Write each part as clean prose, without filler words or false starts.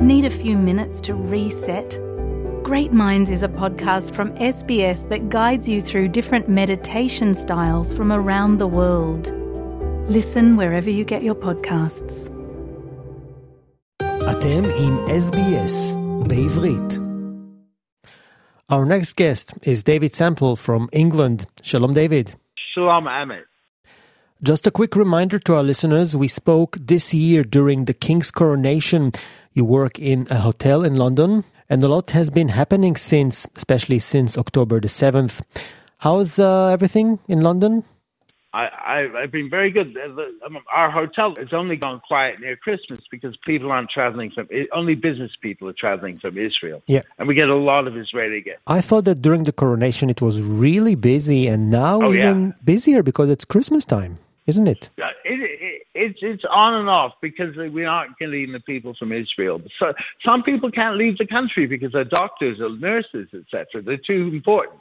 Need a few minutes to reset? Great Minds is a podcast from SBS that guides you through different meditation styles from around the world. Listen wherever you get your podcasts. אתם עם SBS בעברית. Our next guest is David Sample from England. Shalom, David. Shalom, Amit. Just a quick reminder to our listeners, we spoke this year during the King's coronation. You work in a hotel in London, and a lot has been happening since, especially since October the 7th. How's everything in London? I've been very good. Our hotel has only gone quiet near Christmas because people aren't traveling only business people are traveling from Israel. Yeah. And we get a lot of Israeli guests. I thought that during the coronation it was really busy, and now busier because it's Christmas time, isn't it? It's on and off because we aren't getting the people from Israel. So some people can't leave the country because they're doctors or nurses, etc. They're too important.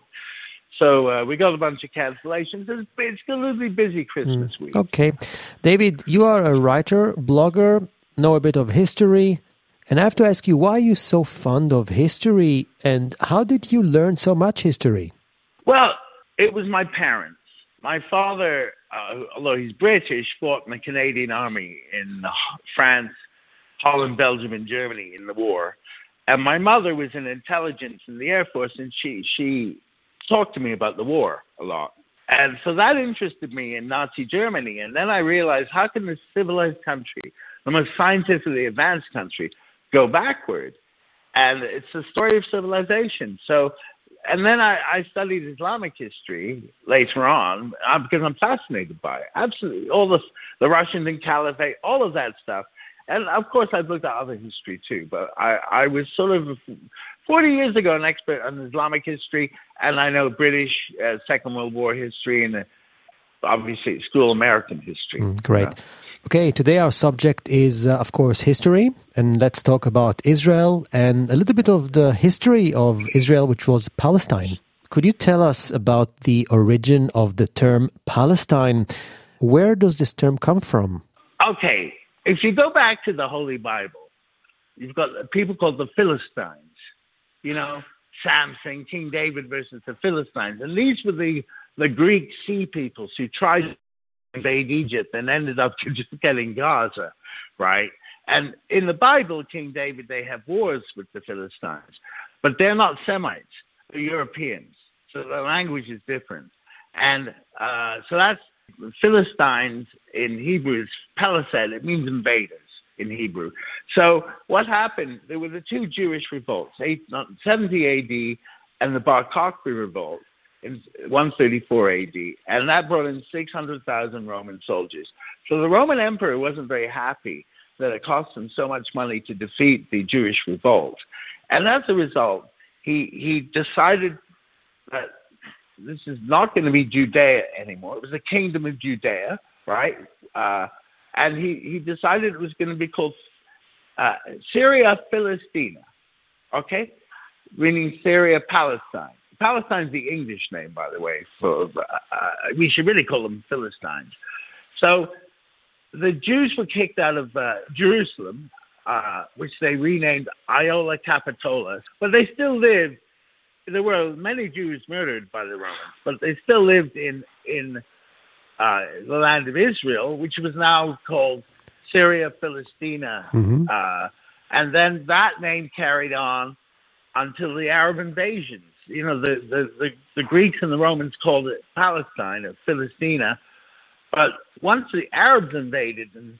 So we got a bunch of cancellations. It's going to be busy Christmas week. Okay. David, you are a writer, blogger, know a bit of history. And I have to ask you, why are you so fond of history? And how did you learn so much history? Well, it was my parents. My father, although he's British, fought in the Canadian Army in France, Holland, Belgium, and Germany in the war. And my mother was in intelligence in the Air Force, and she talked to me about the war a lot. And so that interested me in Nazi Germany. And then I realized, how can this civilized country, the most scientifically advanced country, go backward? And it's the story of civilization. So, and then I studied Islamic history later on because I'm fascinated by it. Absolutely. All the Russian Caliphate, all of that stuff. And of course, I've looked at other history too, but I was sort of 40 years ago an expert on Islamic history, and I know British Second World War history and obviously school American history. Great. Okay, today our subject is, of course, history, and let's talk about Israel and a little bit of the history of Israel, which was Palestine. Could you tell us about the origin of the term Palestine? Where does this term come from? Okay. If you go back to the Holy Bible, you've got people called the Philistines. You know, Samson, King David versus the Philistines. And these were the Greek sea peoples who tried to invade Egypt and ended up just getting Gaza, right? And in the Bible, King David, they have wars with the Philistines. But they're not Semites. They're Europeans. So the language is different. And so that's Philistines in Hebrew is Palisad. It means invaders in Hebrew. So what happened, there were the two Jewish revolts, 70 AD and the Bar Kokhba revolt in 134 AD. And that brought in 600,000 Roman soldiers. So the Roman emperor wasn't very happy that it cost him so much money to defeat the Jewish revolt. And as a result, he decided that this is not going to be Judea anymore. It was the kingdom of Judea, right? And he decided it was going to be called Syria Philistina, okay? Meaning Syria Palestine. Palestine's the English name, by the way. We should really call them Philistines. So the Jews were kicked out of Jerusalem, which they renamed Iola Capitola, but they still lived. There were many Jews murdered by the Romans, but they still lived in the land of Israel, which was now called Syria Philistina. Mm-hmm. And then that name carried on until the Arab invasions. You know, the Greeks and the Romans called it Palestine or Philistina. But once the Arabs invaded in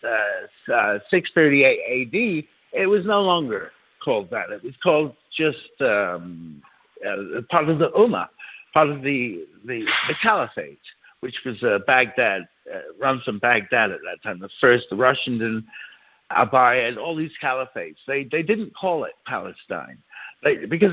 638 AD, it was no longer called that. It was called just part of the Ummah, part of the Caliphate, which was Baghdad, run from Baghdad at that time. The Russians and Abai and all these caliphates. They didn't call it Palestine because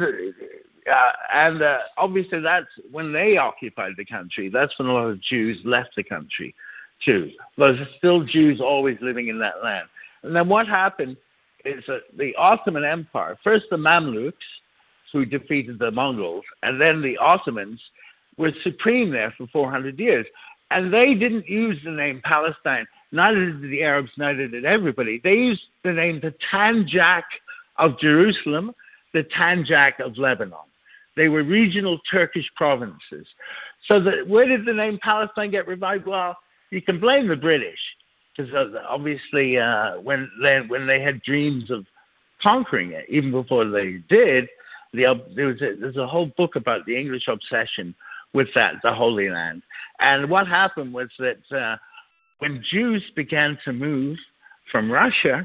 obviously that's when they occupied the country. That's when a lot of Jews left the country too. There's still Jews always living in that land. And then what happened is that the Ottoman Empire, first the Mamluks, who defeated the Mongols, and then the Ottomans were supreme there for 400 years. And they didn't use the name Palestine. Neither did the Arabs, neither did everybody. They used the name the Tanjak of Jerusalem, the Tanjak of Lebanon. They were regional Turkish provinces. So where did the name Palestine get revived? Well, you can blame the British, because obviously when they had dreams of conquering it, even before they did, there's a whole book about the English obsession with the Holy Land. And what happened was that when Jews began to move from Russia,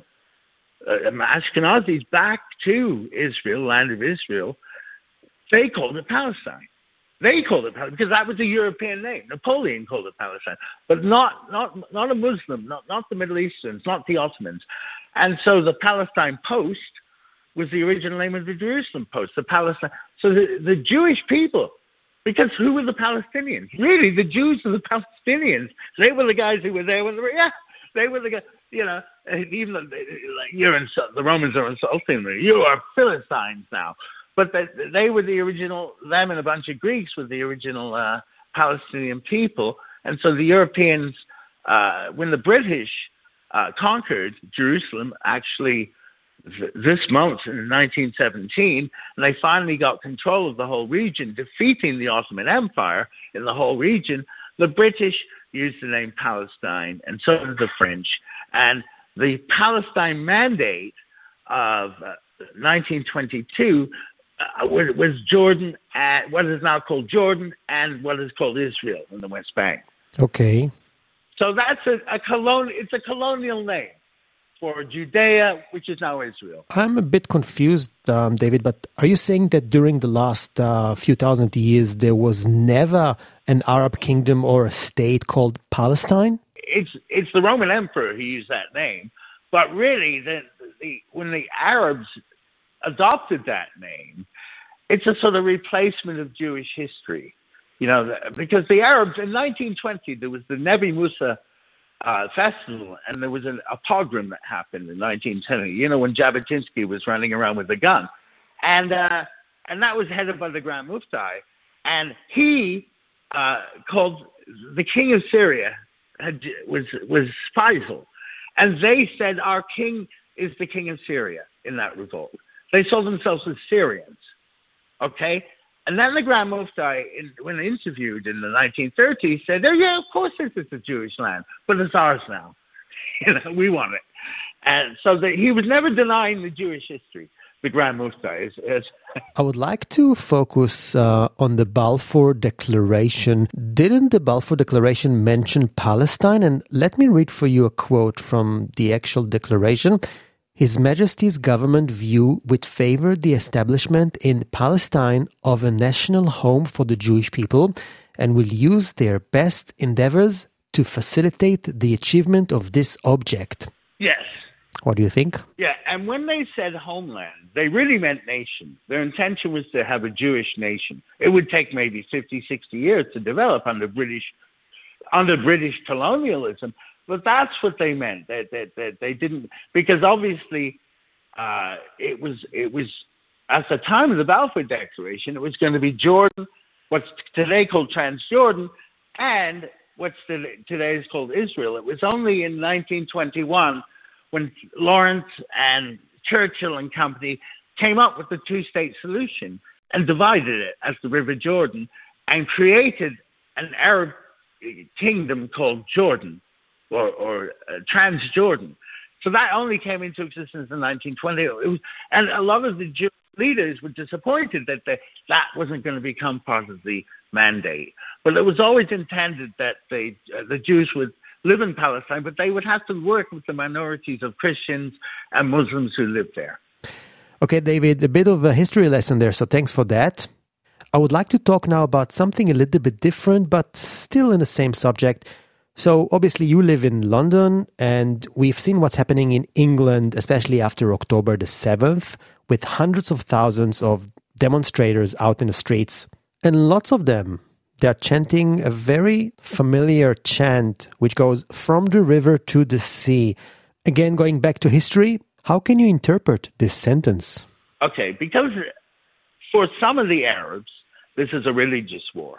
Ashkenazis, back to Israel, land of Israel, they called it Palestine. They called it Palestine because that was a European name. Napoleon called it Palestine, but not a Muslim, not the Middle Easterns, not the Ottomans. And so the Palestine Post was the original name of the Jerusalem Post, the Palestine. So the Jewish people, because who were the Palestinians? Really, the Jews are the Palestinians. They were the guys who were there when they were the guys, even the Romans are insulting me. You are Philistines now. But they were the original, them and a bunch of Greeks were the original Palestinian people. And so the Europeans, when the British conquered Jerusalem, actually this month in 1917, and they finally got control of the whole region, defeating the Ottoman Empire in the whole region, the British used the name Palestine, and so did the French. And the Palestine Mandate of 1922 was Jordan, what is now called Jordan, and what is called Israel in the West Bank. Okay. So that's it's a colonial name for Judea, which is now Israel. I'm a bit confused, David, but are you saying that during the last few thousand years there was never an Arab kingdom or a state called Palestine? It's the Roman emperor who used that name, but really, when the Arabs adopted that name, it's a sort of replacement of Jewish history, because the Arabs in 1920 there was the Nebi Musa festival, and there was a pogrom that happened in 1910. When Jabotinsky was running around with a gun, and that was headed by the Grand Mufti, and he called the king of Syria was Faisal, and they said our king is the king of Syria in that revolt. They saw themselves as Syrians, okay? And then the Grand Mufti, when interviewed in the 1930s, said, "Oh yeah, of course this is a Jewish land, but it's ours now. We want it." And so he was never denying the Jewish history. The Grand Mufti is. I would like to focus on the Balfour Declaration. Didn't the Balfour Declaration mention Palestine? And let me read for you a quote from the actual declaration. His Majesty's government view with favor the establishment in Palestine of a national home for the Jewish people and will use their best endeavors to facilitate the achievement of this object. Yes. What do you think? Yeah, and when they said homeland, they really meant nation. Their intention was to have a Jewish nation. It would take maybe 50, 60 years to develop under British colonialism. But that's what they meant. That they didn't, because obviously it was at the time of the Balfour Declaration, it was going to be Jordan, what's today called Transjordan, and what's today is called Israel. It was only in 1921 when Lawrence and Churchill and company came up with the two-state solution and divided it as the River Jordan and created an Arab kingdom called Jordan. Or Transjordan. So that only came into existence in 1920. And a lot of the Jewish leaders were disappointed that that wasn't going to become part of the mandate. But it was always intended that the Jews would live in Palestine, but they would have to work with the minorities of Christians and Muslims who lived there. Okay, David, a bit of a history lesson there, so thanks for that. I would like to talk now about something a little bit different, but still in the same subject. So obviously you live in London, and we've seen what's happening in England, especially after October the 7th, with hundreds of thousands of demonstrators out in the streets. And lots of them, they're chanting a very familiar chant, which goes from the river to the sea. Again, going back to history, how can you interpret this sentence? Okay, because for some of the Arabs, this is a religious war.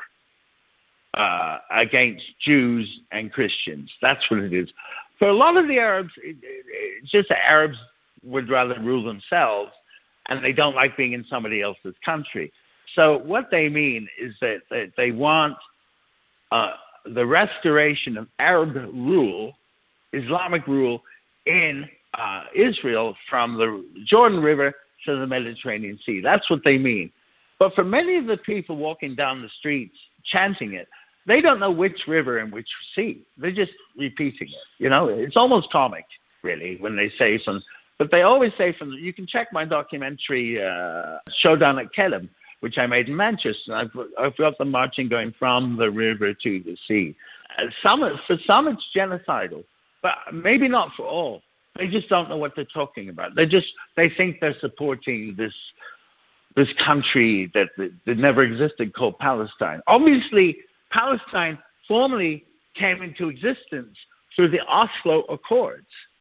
Against Jews and Christians. That's what it is. For a lot of the Arabs, it's just the Arabs would rather rule themselves and they don't like being in somebody else's country. So what they mean is that they want the restoration of Arab rule, Islamic rule in Israel from the Jordan River to the Mediterranean Sea. That's what they mean. But for many of the people walking down the streets chanting it, they don't know which river and which sea. They're just repeating it. You know, it's almost comic, really, when they say something. But they always say you can check my documentary, Showdown at Kelm, which I made in Manchester. I've got them marching going from the river to the sea. For some, it's genocidal, but maybe not for all. They just don't know what they're talking about. They think they're supporting this country that never existed called Palestine. Obviously, Palestine formally came into existence through the Oslo Accords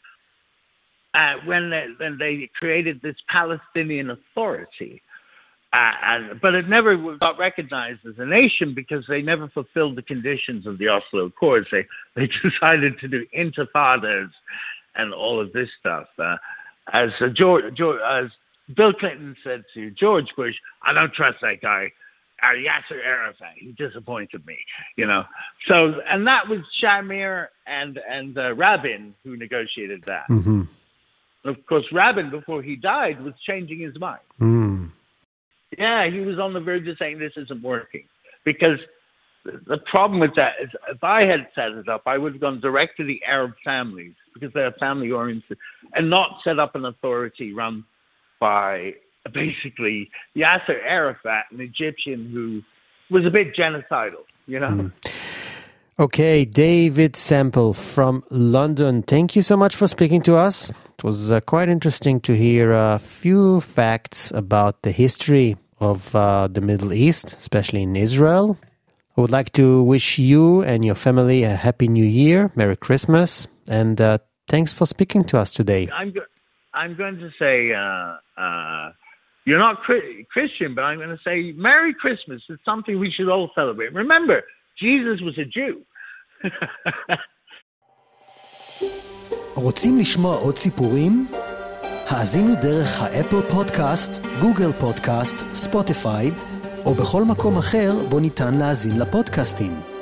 when they created this Palestinian Authority. But it never got recognized as a nation because they never fulfilled the conditions of the Oslo Accords. They decided to do intifadas and all of this stuff. As Bill Clinton said to George Bush, I don't trust that guy, Yasser Arafat. He disappointed me, you know. So, and that was Shamir and Rabin who negotiated that. Mm-hmm. Of course, Rabin, before he died, was changing his mind. Mm. Yeah, he was on the verge of saying this isn't working. Because the problem with that is if I had set it up, I would have gone direct to the Arab families because they're family-oriented and not set up an authority run by basically Yasser Arafat, an Egyptian who was a bit genocidal, you know? Mm. Okay, David Sample from London. Thank you so much for speaking to us. It was quite interesting to hear a few facts about the history of the Middle East, especially in Israel. I would like to wish you and your family a Happy New Year, Merry Christmas, and thanks for speaking to us today. I'm going to say, you're not Christian, but I'm going to say Merry Christmas. It's something we should all celebrate. Remember, Jesus was a Jew. רוצים לשמוע עוד סיפורים? האזינו דרך האפל פודקאסט, גוגל פודקאסט, ספוטיפיי, או בכל מקום אחר בו ניתן להאזין לפודקאסטים.